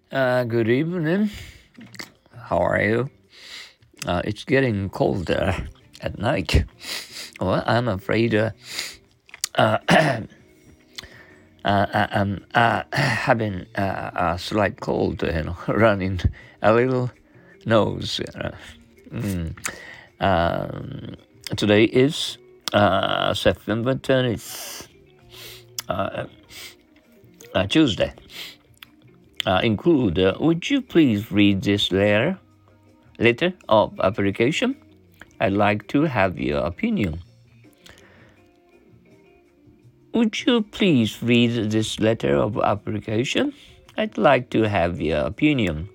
Good evening. How are you? It's getting colder at night. Well, I'm afraid I'm having a slight cold, running a little nose. Mm. Today is September 20th, Tuesday. Would you please read this letter of application? I'd like to have your opinion. Would you please read this letter of application? I'd like to have your opinion.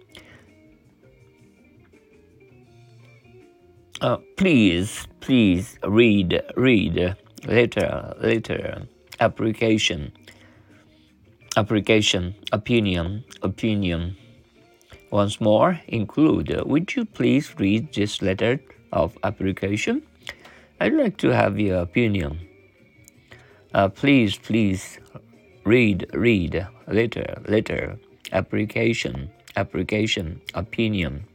Please read letter application opinion. Once more, would you please read this letter of application? I'd like to have your opinion. Please read letter application opinion.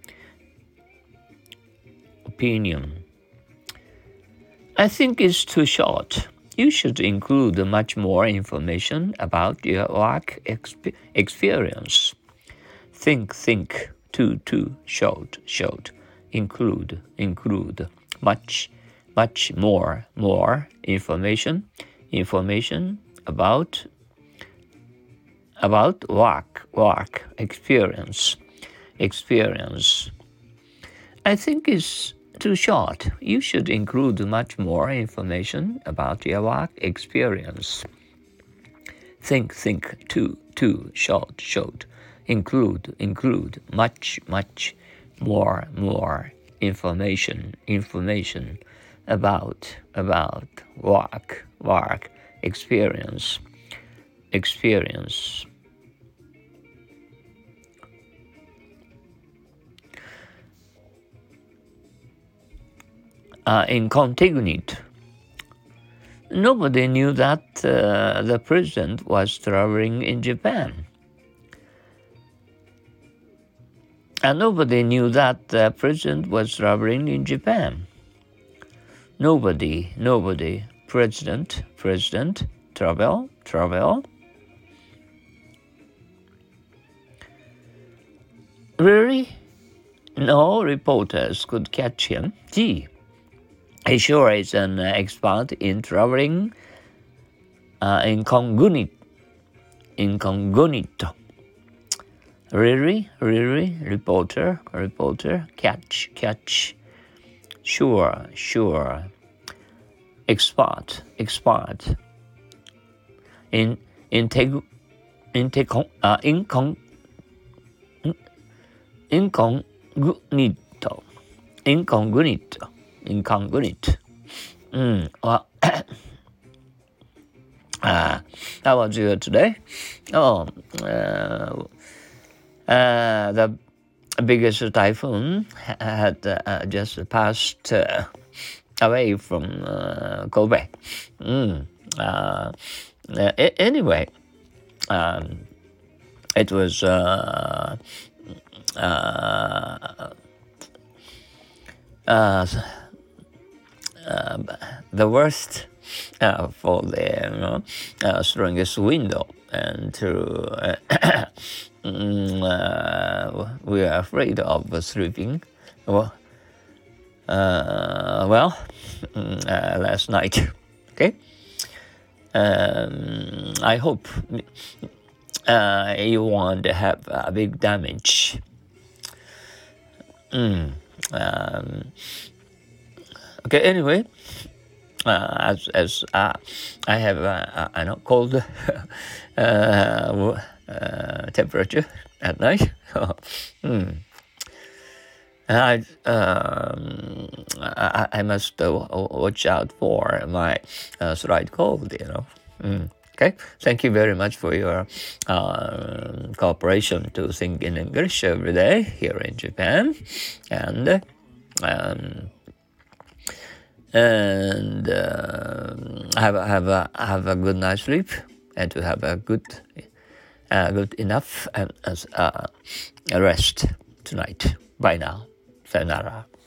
I think it's too short. You should include much more information about your work experience. Think, too short. Include, much more information about work experience. I think it's too short. You should include much more information about your work experience. Think, too short. Include much more information about work experience. Incognito. Nobody knew that the president was traveling in Japan. And nobody knew that the president was traveling in Japan. Nobody. President, travel. Really? No reporters could catch him. Gee, he sure is an expert in traveling incognito. Really? Reporter, catch. Sure. Expert. Incognito. Well, how about you today? The biggest typhoon had just passed away from Kobe. Anyway, it was the worst for the strongest window, and we are afraid of sleeping. Last night. Okay. I hope you won't have a big damage. Okay. Anyway, as I have cold temperature at night. I must watch out for my slight cold. Okay. Thank you very much for your cooperation to think in English every day here in Japan, and have a good night's sleep, and to have a good good enough and rest tonight. Bye now. Sayonara.